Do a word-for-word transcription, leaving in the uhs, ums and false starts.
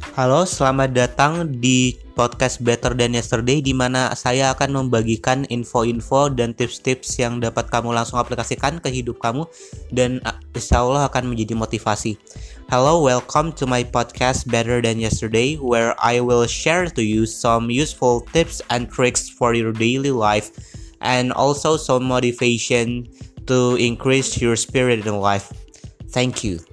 Halo, selamat datang di podcast Better Than Yesterday, di mana saya akan membagikan info-info dan tips-tips yang dapat kamu langsung aplikasikan ke hidup kamu dan insya Allah akan menjadi motivasi. Hello, welcome to my podcast Better Than Yesterday, where I will share to you some useful tips and tricks for your daily life and also some motivation to increase your spirit in life. Thank you.